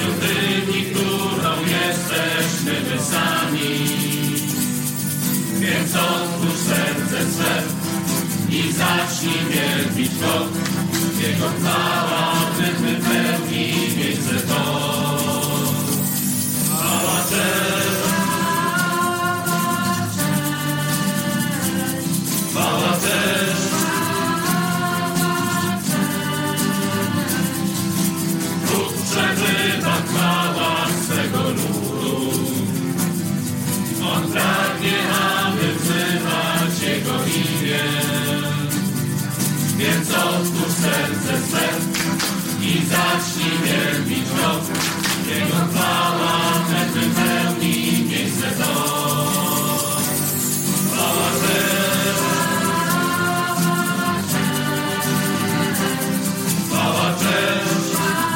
świątyni, którą jesteśmy my sami. Więc otwórz serce swe i zacznij wielbić Go. Jego chwała wypełni miejsce to. Chwała, cześć, chwała, cześć. Bóg przebywa w chwałach swego ludu. On pragnie, aby wzywać Jego imię. Więc otwórz serce swe i zacznij wielbić Go. Jego chwała wypełni miejsce to. Chwała, cześć, chwała, cześć.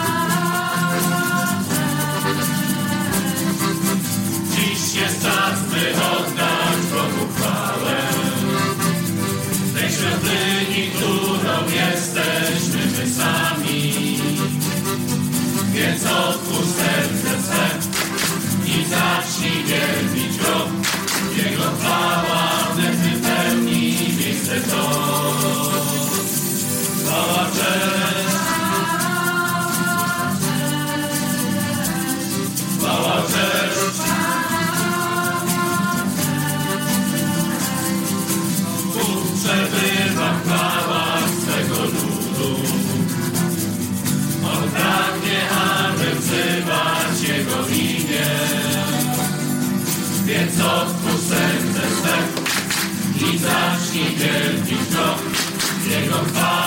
Dziś jest czas, by oddać Bogu chwałę. W tej świątyni, którą jesteśmy my sami. Więc otwórz serce swe i zacznij wielbić Go. Jego chwała wypełni miejsce to. Chwała, cześć, chwała, cześć. Bóg przebywa w chwałach swego ludu. On pragnie, aby wzywać Jego imię. Więc otwórz serce swe i zacznij wielbić Go. Jego chwała